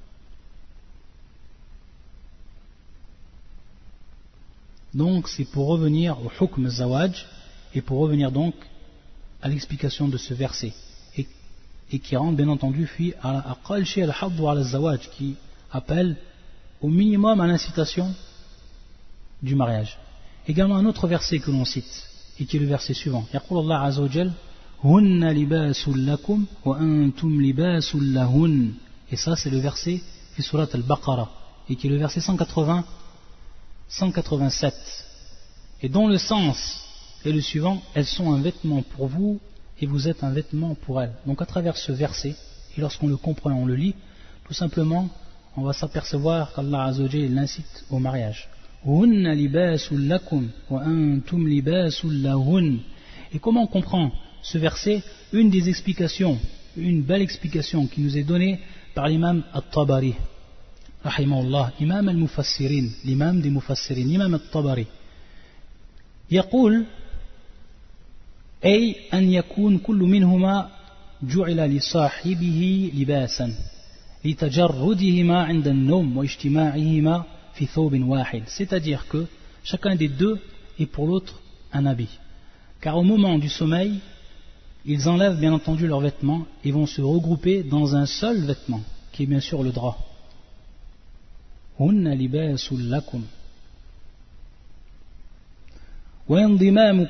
Donc c'est pour revenir au hukm zawaj, et pour revenir donc à l'explication de ce verset, et qui rentre bien entendu à aqal shay al-hadd ala zawaj, qui appelle au minimum à l'incitation du mariage. Également un autre verset que l'on cite, et qui est le verset suivant. Yaqul Allah azza wa jal, hunna libasul lakum wa antum libasul lahun. Et ça c'est le verset fi surat al-Baqarah, et qui est le verset 187, et dont le sens est le suivant: elles sont un vêtement pour vous et vous êtes un vêtement pour elles. Donc à travers ce verset, et lorsqu'on le comprend, on le lit, tout simplement on va s'apercevoir qu'Allah azza wa jalla l'incite au mariage. Hunna libasul lakum wa antum libasul lahun. Et comment on comprend ce verset? Une des explications, une belle explication qui nous est donnée par l'imam At-Tabari rahimahullah, imam al-Mufassirin, l'imam des Mufassirin, l'imam At-Tabari, يقول أي أن يكون كل منهما جعل لصاحبه لباسا لتجردهما عند النوم واجتماعهما في ثوب واحد. C'est-à-dire que chacun des deux est pour l'autre un habit, car au moment du sommeil ils enlèvent bien entendu leurs vêtements et vont se regrouper dans un seul vêtement qui est bien sûr le drap. Hunna libasul lakum. وانضمام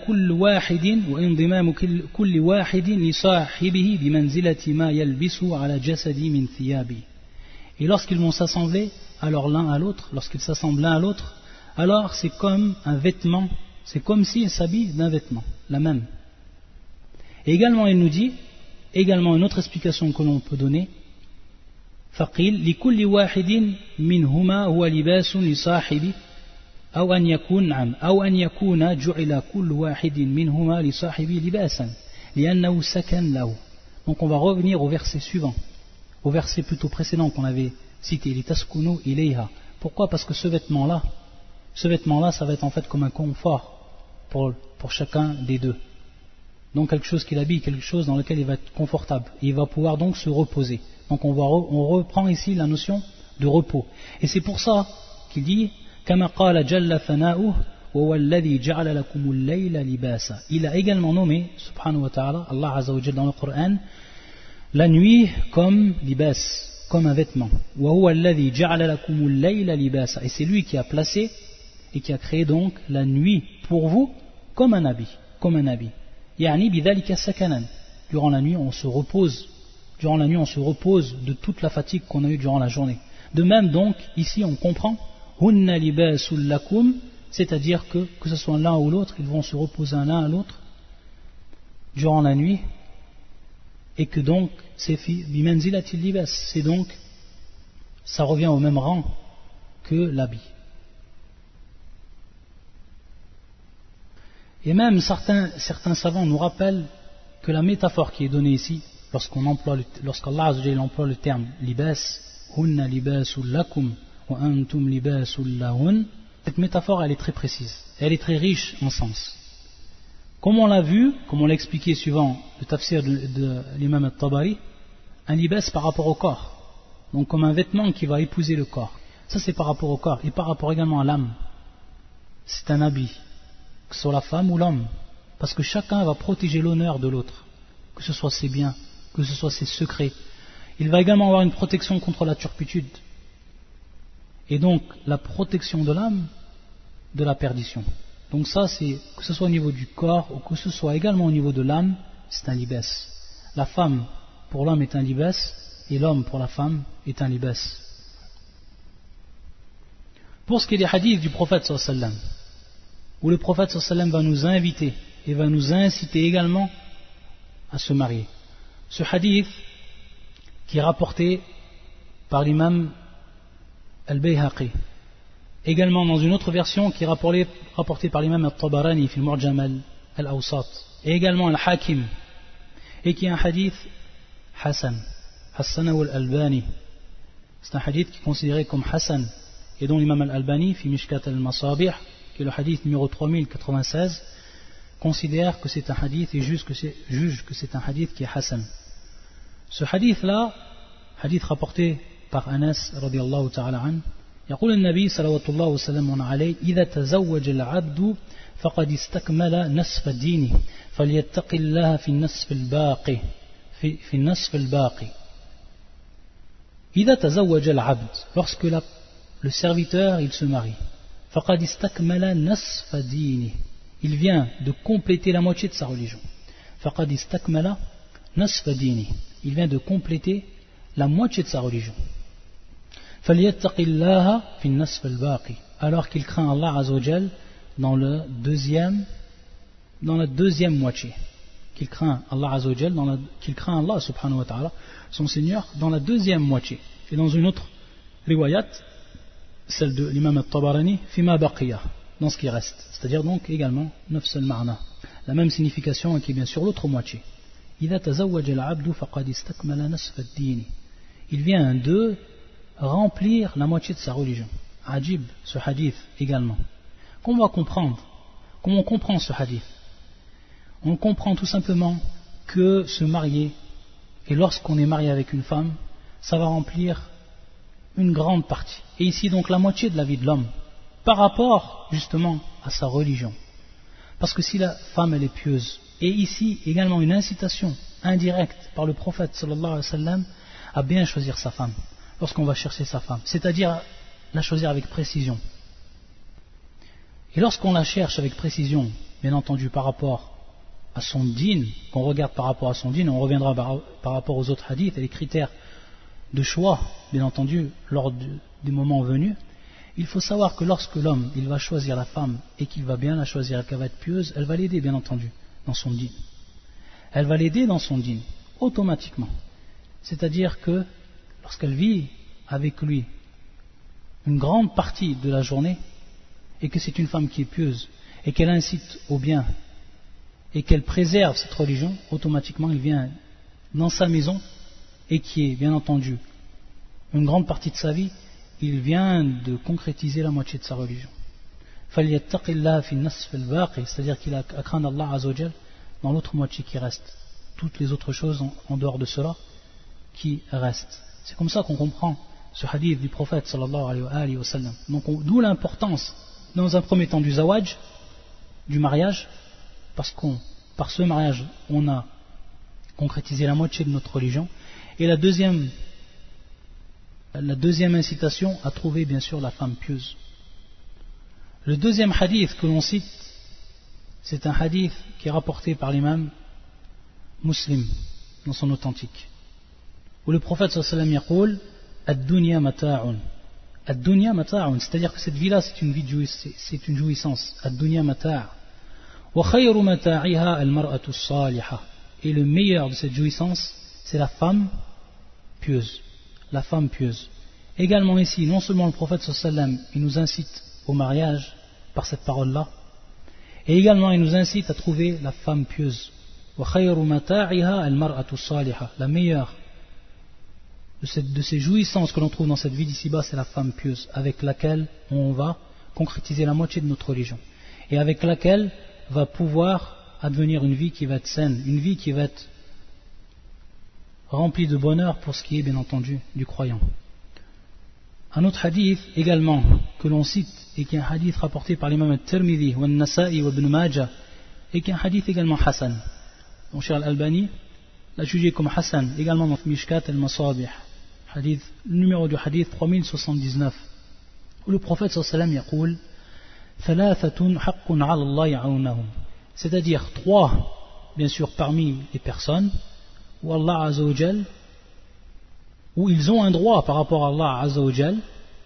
كل واحد لصاحبه بمنزلة ما يلبسه على جسدي من ثيابه. Et lorsqu'ils vont s'assembler alors l'un à l'autre, lorsqu'ils s'assemblent l'un à l'autre, alors c'est comme un vêtement, c'est comme s'ils s'habillent d'un vêtement, la même. Et également il nous dit, également une autre explication que l'on peut donner, فقيل لكل واحد منهما هو لباس لصاحبه أو أن يكون جعل كل واحد منهما لصاحبه لباسا لأنه سكن له. Donc on va revenir au verset suivant, au verset plutôt précédent qu'on avait cité, litaskunu ilayha. Pourquoi? Parce que ce vêtement-là, ça va être en fait comme un confort pour chacun des deux. donc quelque chose qu'il habille, quelque chose dans lequel il va être confortable, et il va pouvoir donc se reposer. Donc on reprend ici la notion de repos. Et c'est pour ça qu'il dit كما قال جل ثناؤه وهو الذي جعل لكم الليل لباسا. Il a également nommé, subhanahu wa ta'ala, Allah Azza wa Jalla dans le Coran, la nuit comme libas, comme un vêtement. وهو الذي جعل لكم الليل لباسا. Et c'est lui qui a placé et qui a créé donc la nuit pour vous comme un habit, comme un habit. يعني بذلك سكنا. Durant la nuit on se repose. Durant la nuit on se repose de toute la fatigue qu'on a eue durant la journée. De même donc ici on comprend hunna libasul lakum, c'est-à-dire que ce soit l'un ou l'autre, ils vont se reposer l'un à l'autre durant la nuit, et que donc c'est bimanzilatil libas, c'est donc ça revient au même rang que l'habit. Et même certains savants nous rappellent que la métaphore qui est donnée ici, lorsqu'Allah Azza wa Jalla emploie le terme libas, hunna libasul lakum wa antum libasul lahun, cette métaphore elle est très précise, elle est très riche en sens. Comme on l'a vu, comme on l'a expliqué suivant le tafsir de l'imam al-Tabari, un libas par rapport au corps, donc comme un vêtement qui va épouser le corps. Ça c'est par rapport au corps, et par rapport également à l'âme. C'est un habit, que ce soit la femme ou l'homme, parce que chacun va protéger l'honneur de l'autre, que ce soit ses biens, que ce soit ses secrets. Il va également avoir une protection contre la turpitude, et donc la protection de l'âme de la perdition. Donc ça, c'est que ce soit au niveau du corps ou que ce soit également au niveau de l'âme, c'est un libas. La femme pour l'homme est un libas et l'homme pour la femme est un libas. Pour ce qui est des hadiths du prophète sallallahu alayhi wa sallam, où le prophète sallallahu alayhi wa sallam va nous inviter et va nous inciter également à se marier. Ce hadith qui est rapporté par l'imam al-Bayhaqi, également dans une autre version qui est rapportée par l'imam al-Tabarani fi al-Mu'jam al-Awsat, et également al-Hakim, et qui est un hadith Hassan al-Albani. C'est un hadith qui est considéré comme Hassan, et dont l'imam al-Albani fi Mishkat al-Masabih, qui est le hadith numéro 3096, considère que c'est un hadith et juge que c'est un hadith qui est Hassan. Ce hadith-là, hadith rapporté par Anas radiyallahu ta'ala an, يقول النبي صلى الله وسلم عليه إذا تزوج العبد فقد استكمل نصف دينه فليتق الله في النصف الباقي في النصف الباقي. إذا تزوج العبد, lorsque le serviteur il se marie, فقد استكمل نصف دينه, il vient de compléter la moitié de sa religion. فقد استكمل نصف دينه, il vient de compléter la moitié de sa religion. فَلْيَتَّقِ اللَّهَ فِي النَّصْفِ الْبَاقِ, alors qu'il craint Allah Azza wa Jal dans la deuxième moitié, qu'il craint Allah Azza wa Jal, qu'il craint Allah subhanahu wa ta'ala, son Seigneur, dans la deuxième moitié. Et dans une autre riwayat, celle de l'imam al-Tabarani, فِمَا بَقِيَ, dans ce qui reste, c'est-à-dire donc également نفس المعنى, la même signification qui est bien sûr l'autre moitié. إِذَا تَزَوَّجَ الْعَبْدُ فَقَدْ اسْتَكْمَلَ نَصْفَ الدِّينِ, il vient de remplir la moitié de sa religion. Ajib, ce hadith également. Comment on comprend ce hadith? On comprend tout simplement que se marier, et lorsqu'on est marié avec une femme, ça va remplir une grande partie. Et ici donc la moitié de la vie de l'homme, par rapport justement à sa religion. Parce que si la femme elle est pieuse, et ici également une incitation indirecte par le prophète sallallahu alayhi wa sallam à bien choisir sa femme, lorsqu'on va chercher sa femme, c'est-à-dire la choisir avec précision. Et lorsqu'on la cherche avec précision, bien entendu par rapport à son dîn, qu'on regarde par rapport à son dîn, on reviendra par rapport aux autres hadiths et les critères de choix, bien entendu, lors du moment venu, il faut savoir que lorsque l'homme il va choisir la femme et qu'il va bien la choisir et qu'elle va être pieuse, elle va l'aider bien entendu dans son dîn. Elle va l'aider dans son dîn, automatiquement. C'est-à-dire que lorsqu'elle vit avec lui une grande partie de la journée et que c'est une femme qui est pieuse et qu'elle incite au bien et qu'elle préserve cette religion, automatiquement il vient dans sa maison et qui est bien entendu une grande partie de sa vie, il vient de concrétiser la moitié de sa religion. C'est-à-dire qu'il a à craindre Allah Azza wa Jal dans l'autre moitié qui reste. Toutes les autres choses en dehors de cela qui restent. C'est comme ça qu'on comprend ce hadith du prophète sallallahu alayhi wa sallam. Donc d'où l'importance dans un premier temps du zawaj, du mariage, parce par ce mariage on a concrétisé la moitié de notre religion, et la deuxième incitation à trouver bien sûr la femme pieuse. Le deuxième hadith que l'on cite, c'est un hadith qui est rapporté par l'imam Muslim dans son authentique, où le prophète sallallahu alayhi wa sallam yaqul ad-dunya mata'un. Ad-dunya mata'un, c'est-à-dire que cette vie-là c'est une jouissance. Ad-dunya mata'. Wa khayru mata'iha al-mar'atu as-salihah. Et le meilleur de cette jouissance, c'est la femme pieuse. La femme pieuse. Également ici, non seulement le prophète sallallahu alayhi wa sallam, il nous incite au mariage par cette parole-là, et également il nous incite à trouver la femme pieuse. Wa khayru mata'iha al-mar'atu as-salihah. La meilleure de ces jouissances que l'on trouve dans cette vie d'ici-bas, c'est la femme pieuse, avec laquelle on va concrétiser la moitié de notre religion, et avec laquelle va pouvoir advenir une vie qui va être saine, une vie qui va être remplie de bonheur pour ce qui est bien entendu du croyant. Un autre hadith également que l'on cite, et qui est un hadith rapporté par l'imam al-Tirmidhi, wa al-Nasa'i wa ibn Majah, et qui est un hadith également Hassan. Mon cher Al-Albani l'a jugé comme Hassan, également dans Mishkat al-Masabih, hadith, le numéro du hadith 3079, où le prophète sallallahu alayhi wa sallam yaqul thalathatun haqqun ala Allah ya'unahum, c'est-à-dire trois, bien sûr, parmi les personnes où Allah Azza wa Jal, où ils ont un droit par rapport à Allah Azza wa Jal,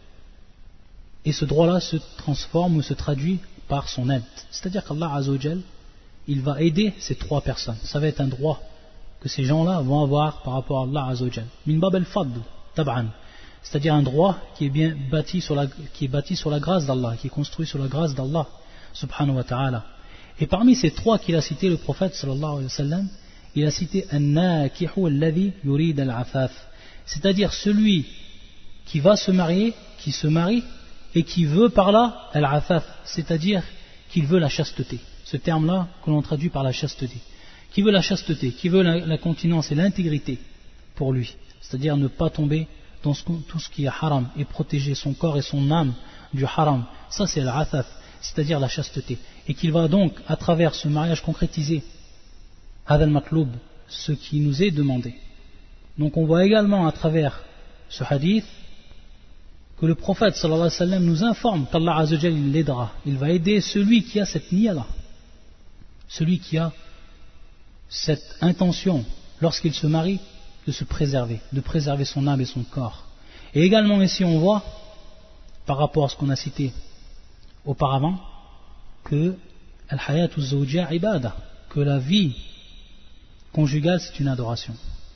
et ce droit-là se transforme ou se traduit par son aide. C'est-à-dire qu'Allah Azza wa Jal, il va aider ces trois personnes. Ça va être un droit que ces gens-là vont avoir par rapport à Allah Azza wa Jal. Min bab al-fadl, tab'an. C'est-à-dire un droit qui est bien bâti sur la grâce d'Allah, qui est construit sur la grâce d'Allah subhanahu wa ta'ala. Et parmi ces trois qu'il a cités, le prophète sallallahu alayhi wa sallam, il a cité an-nakihu alladhi yurid al-afaf, c'est-à-dire celui qui va se marier, qui se marie et qui veut par là al-afaf, c'est-à-dire qu'il veut la chasteté. Ce terme-là que l'on traduit par la chasteté. Qui veut la chasteté, qui veut la continence et l'intégrité pour lui, c'est-à-dire ne pas tomber dans tout ce qui est haram et protéger son corps et son âme du haram. Ça c'est al-afaf, c'est-à-dire la chasteté. Et qu'il va donc, à travers ce mariage concrétisé, hadal matloub, ce qui nous est demandé. Donc on voit également à travers ce hadith que le prophète sallallahu alayhi wa sallam nous informe qu'Allah Azza wa Jalla l'aidera. Il va aider celui qui a cette niya-là, celui qui a cette intention lorsqu'il se marie de se préserver, de préserver son âme et son corps. Et également ici on voit, par rapport à ce qu'on a cité auparavant, que al-hayatu zawjiyya ibada, que la vie conjugale c'est une adoration.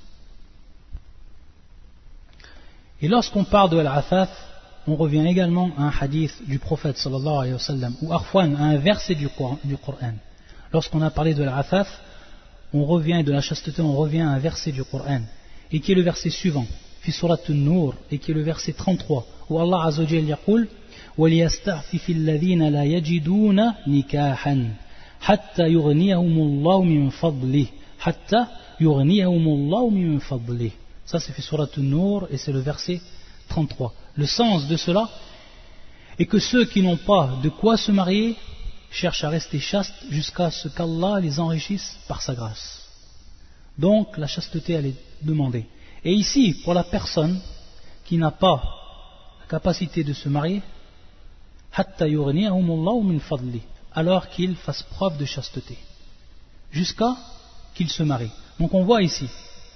Et lorsqu'on parle de al-afaf, on revient également à un hadith du prophète sallallahu alayhi wa sallam, ou arfwan, à un verset du Coran. Lorsqu'on a parlé de al-afaf, on revient de la chasteté, on revient à un verset du Coran, et qui est le verset suivant, fi surat an-Nur, et qui est le verset 33, où Allah Azza wa Jalla yaqul وَلْيَسْتَعْفِفِ الَّذِينَ لَا يَجِدُونَ نِكَاحًا حَتَّى يُغْنِيَهُمُ اللَّهُ مِنْ فَضْلِهِ حَتَّى يُغْنِيَهُمُ اللَّهُ مِنْ فَضْلِهِ. Ça c'est fi surat an-Nur et c'est le verset 33. Le sens de cela est que ceux qui n'ont pas de quoi se marier cherchent à rester chastes jusqu'à ce qu'Allah les enrichisse par sa grâce. Donc la chasteté elle est demandée. Et ici, pour la personne qui n'a pas la capacité de se marier, alors qu'il fasse preuve de chasteté, jusqu'à qu'il se marie. Donc on voit ici,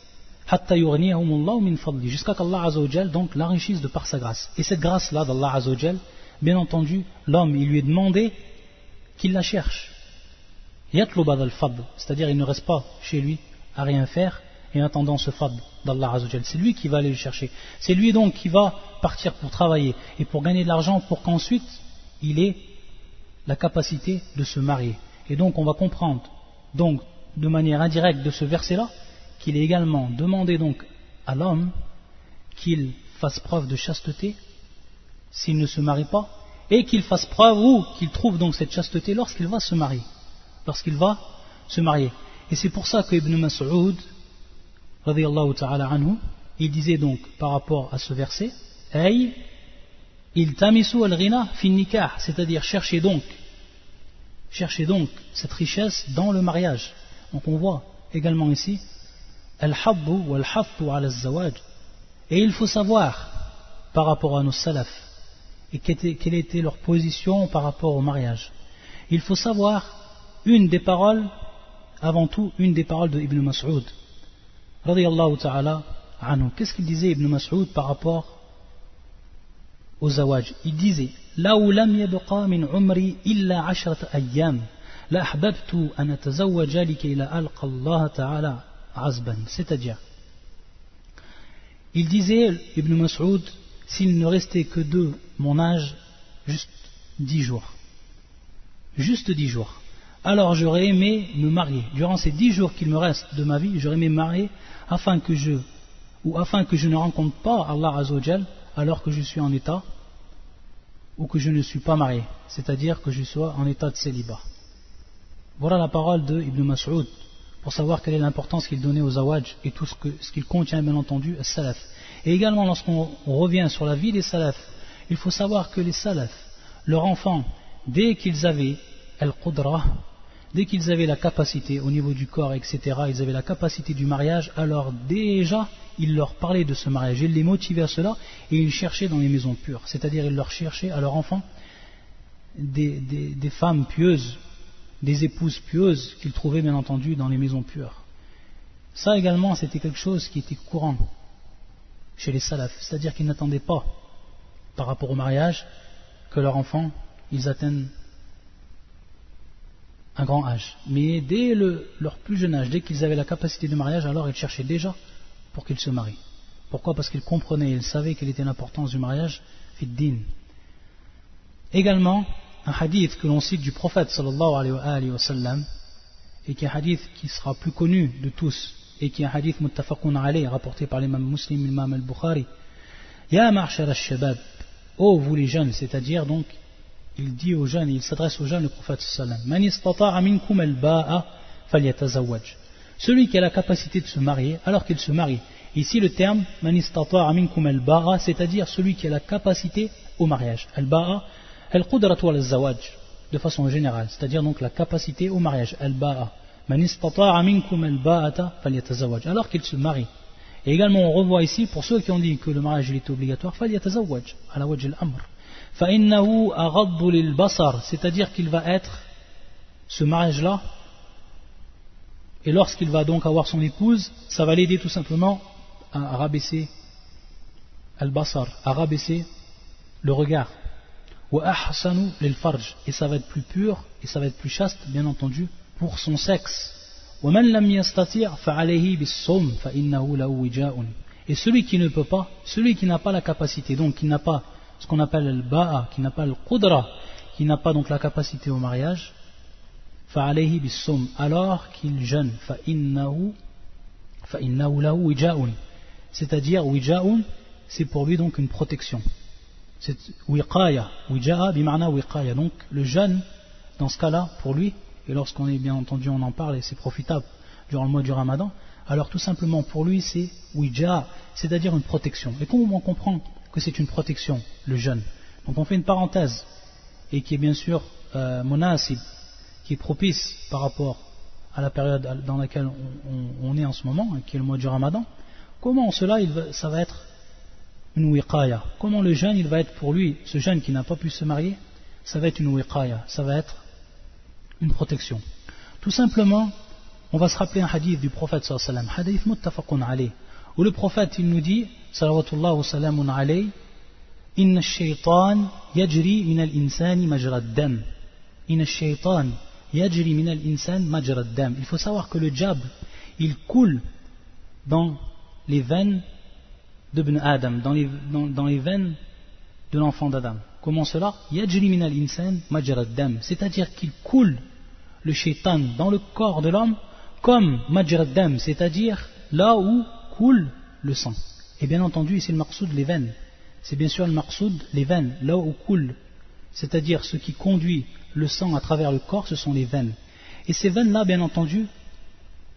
jusqu'à qu'Allah Azza wa Jal donc l'enrichisse de par sa grâce. Et cette grâce-là d'Allah Azza wa Jal, bien entendu, l'homme, il lui est demandé qu'il la cherche. C'est-à-dire il ne reste pas chez lui à rien faire et en attendant ce fadl d'Allah Azza wa Jal. C'est lui qui va aller le chercher. C'est lui donc qui va partir pour travailler et pour gagner de l'argent pour qu'ensuite il ait la capacité de se marier. Et donc on va comprendre donc de manière indirecte de ce verset-là qu'il est également demandé donc à l'homme qu'il fasse preuve de chasteté s'il ne se marie pas, et qu'il fasse preuve ou qu'il trouve donc cette chasteté lorsqu'il va se marier. Lorsqu'il va se marier. Et c'est pour ça que Ibn Mas'ud, radiyallahu ta'ala anhu, il disait donc par rapport à ce verset, Ay, iltamisu al-ghina fi nikah, c'est-à-dire cherchez donc cette richesse dans le mariage. Donc on voit également ici, al-haddu wal-hattu ala al-zawaj. Et il faut savoir par rapport à nos salafs, et quelle était leur position par rapport au mariage. Il faut savoir avant tout une des paroles de Ibn Mas'ud, radiyallahu ta'ala anhu. Qu'est-ce qu'il disait Ibn Mas'ud par rapport au zawaj? Il disait, لو لم يبقى من عمري إلا 10 أيام لأحببت أن أتزوج لكي لا ألقى الله تعالى عزبا. C'est-à-dire, il disait, Ibn Mas'ud, s'il ne restait que de mon âge, juste 10 jours. Juste 10 jours. Alors j'aurais aimé me marier. Durant ces 10 jours qu'il me reste de ma vie, j'aurais aimé me marier afin que je ne rencontre pas Allah Azzawajal alors que je suis en état ou que je ne suis pas marié. C'est-à-dire que je sois en état de célibat. Voilà la parole de Ibn Mas'ud pour savoir quelle est l'importance qu'il donnait aux zawaj et tout ce qu'il contient bien entendu à salaf. Et également lorsqu'on revient sur la vie des salafs, il faut savoir que les salafs, leurs enfants, dès qu'ils avaient al-qudra, dès qu'ils avaient la capacité au niveau du corps, etc., ils avaient la capacité du mariage, alors déjà ils leur parlaient de ce mariage, ils les motivaient à cela et ils cherchaient dans les maisons pures, c'est-à-dire ils leur cherchaient à leurs enfants des femmes pieuses, des épouses pieuses qu'ils trouvaient bien entendu dans les maisons pures. Ça également c'était quelque chose qui était courant chez les salafs, c'est-à-dire qu'ils n'attendaient pas par rapport au mariage que leurs enfants ils atteignent un grand âge, mais dès leur plus jeune âge, dès qu'ils avaient la capacité de mariage, alors ils cherchaient déjà pour qu'ils se marient. Pourquoi? Parce qu'ils comprenaient, ils savaient quelle était l'importance du mariage fi din. Également un hadith que l'on cite du prophète sallallahu alayhi wa sallam, et qui est un hadith qui sera plus connu de tous et qui est un hadith muttafaqun alayh rapporté par l'imam Muslim, l'imam al-Bukhari. Ya ma'shar al-shabab, ô vous les jeunes, c'est-à-dire donc il dit aux jeunes, il s'adresse aux jeunes, le prophète sallam, Man istata'a minkum al-ba'a falyatazawwaj. Celui qui a la capacité de se marier, alors qu'il se marie. Ici le terme Man istata'a minkum al-ba'a, c'est-à-dire celui qui a la capacité au mariage. Al-ba'a, al-qudratu al-zawaj, de façon générale, c'est-à-dire donc la capacité au mariage. Al-ba'a, Man istata'a minkum al-ba'ata falyatazawwaj, alors qu'il se marie. Et également on revoit ici, pour ceux qui ont dit que le mariage il était obligatoire, falyatazawwaj, ala wajh al-amr. فَإِنَّهُ أَغَضُّ لِلْبَصَرِ, c'est-à-dire qu'il va être, ce mariage-là, et lorsqu'il va donc avoir son épouse, ça va l'aider tout simplement à rabaisser al-basar, à rabaisser le regard. وَأَحْسَنُ لِلْفَرْجِ, et ça va être plus pur, et ça va être plus chaste, bien entendu, pour son sexe. وَمَنْ لَمْ يَسْتَطِعْ فَعَلَيْهِ بِالصَّوْمِ فَإِنَّهُ لَهُ وِجَاءٌ. Et celui qui ne peut pas, celui qui n'a pas la capacité, donc qui n'a pas ce qu'on appelle al-ba'a, qui n'a pas le qudra, qui n'a pas donc la capacité au mariage, fa'alayhi bis-sawm, alors qu'il jeûne, fa'innahu lahu wija'un, c'est-à-dire wija'un, c'est pour lui donc une protection, c'est wiqaya, wija'a bima'na wiqaya, donc le jeûne dans ce cas-là pour lui, et lorsqu'on est bien entendu on en parle et c'est profitable durant le mois du Ramadan, alors tout simplement pour lui c'est wija'a, c'est-à-dire une protection. Et comment on comprend que c'est une protection, le jeûne? Donc on fait une parenthèse, et qui est bien sûr munasib, qui est propice par rapport à la période dans laquelle on est en ce moment, qui est le mois du Ramadan. Comment cela, ça va être une wiqaya? Comment le jeûne, il va être pour lui, ce jeune qui n'a pas pu se marier, ça va être une wiqaya, ça va être une protection. Tout simplement, on va se rappeler un hadith du prophète sallallahu alayhi wa sallam, hadith muttafaqun alayh, où le prophète il nous dit salawatullah wa salamun alayh, inna ash-shaytan yajri min al-insani majra ad-dam, inna ash-shaytan yajri min al-insan majra ad-dam. Il faut savoir que le diable il coule dans les veines d'Ibn Adam, dans les veines de l'enfant d'Adam. Comment cela? Yajri min al-insan majra ad-dam, c'est-à-dire qu'il coule le shaytan dans le corps de l'homme comme majra ad-dam, c'est-à-dire là où coule le sang. Et bien entendu ici le maqsoud les veines, c'est bien sûr le maqsoud les veines, là où coule, c'est-à-dire ce qui conduit le sang à travers le corps, ce sont les veines. Et ces veines là bien entendu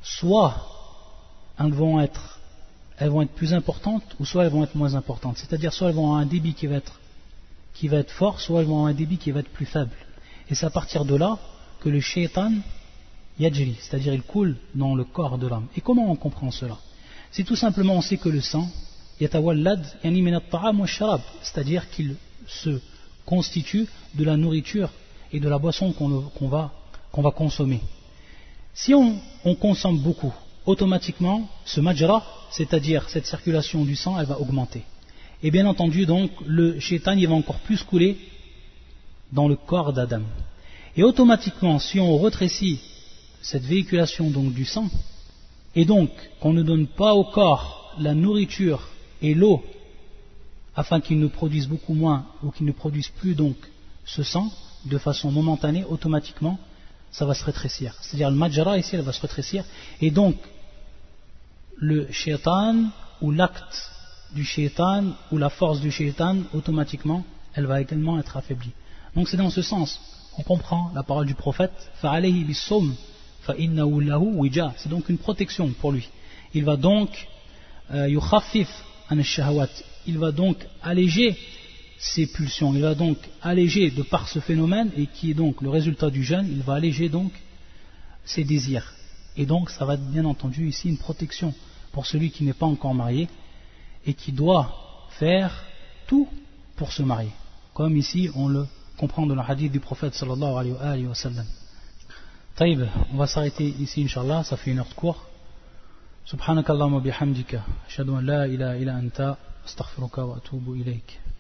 soit elles vont être plus importantes, ou soit elles vont être moins importantes. C'est-à-dire soit elles vont avoir un débit qui va être fort, soit elles vont avoir un débit qui va être plus faible. Et c'est à partir de là que le shaitan yajri, c'est-à-dire il coule dans le corps de l'homme. Et comment on comprend cela? C'est tout simplement, on sait que le sang, yatawallad yani min at-ta'am wa sharab, c'est-à-dire qu'il se constitue de la nourriture et de la boisson qu'on va consommer. Si on consomme beaucoup, automatiquement, ce majra, c'est-à-dire cette circulation du sang, elle va augmenter. Et bien entendu, donc, le shaitan, il va encore plus couler dans le corps d'Adam. Et automatiquement, si on rétrécit cette véhiculation donc du sang, et donc qu'on ne donne pas au corps la nourriture et l'eau, afin qu'il ne produise beaucoup moins, ou qu'il ne produise plus donc ce sang, de façon momentanée, automatiquement, ça va se rétrécir. C'est-à-dire le majra ici, elle va se rétrécir, et donc le shaitan, ou l'acte du shaitan, ou la force du shaitan, automatiquement, elle va également être affaiblie. Donc c'est dans ce sens, on comprend la parole du prophète, فَعَلَيْهِ بِالصَّوْمِ فَإِنَّهُ لَهُ وِجَاء. C'est donc une protection pour lui. Il va donc يُخَفِّفْ عَنِ الشَّهَوَاتِ. Il va donc alléger ses pulsions, il va donc alléger de par ce phénomène, et qui est donc le résultat du jeûne, il va alléger donc ses désirs. Et donc ça va être bien entendu ici une protection pour celui qui n'est pas encore marié et qui doit faire tout pour se marier, comme ici on le comprend dans le hadith du prophète sallallahu alayhi wa sallam. Taïb, on va s'arrêter ici inshallah, ça fait une heure de cours. Subhanakallahumma bihamdika ashhadu an la ilaha illa anta astaghfiruka wa atubu ilayk.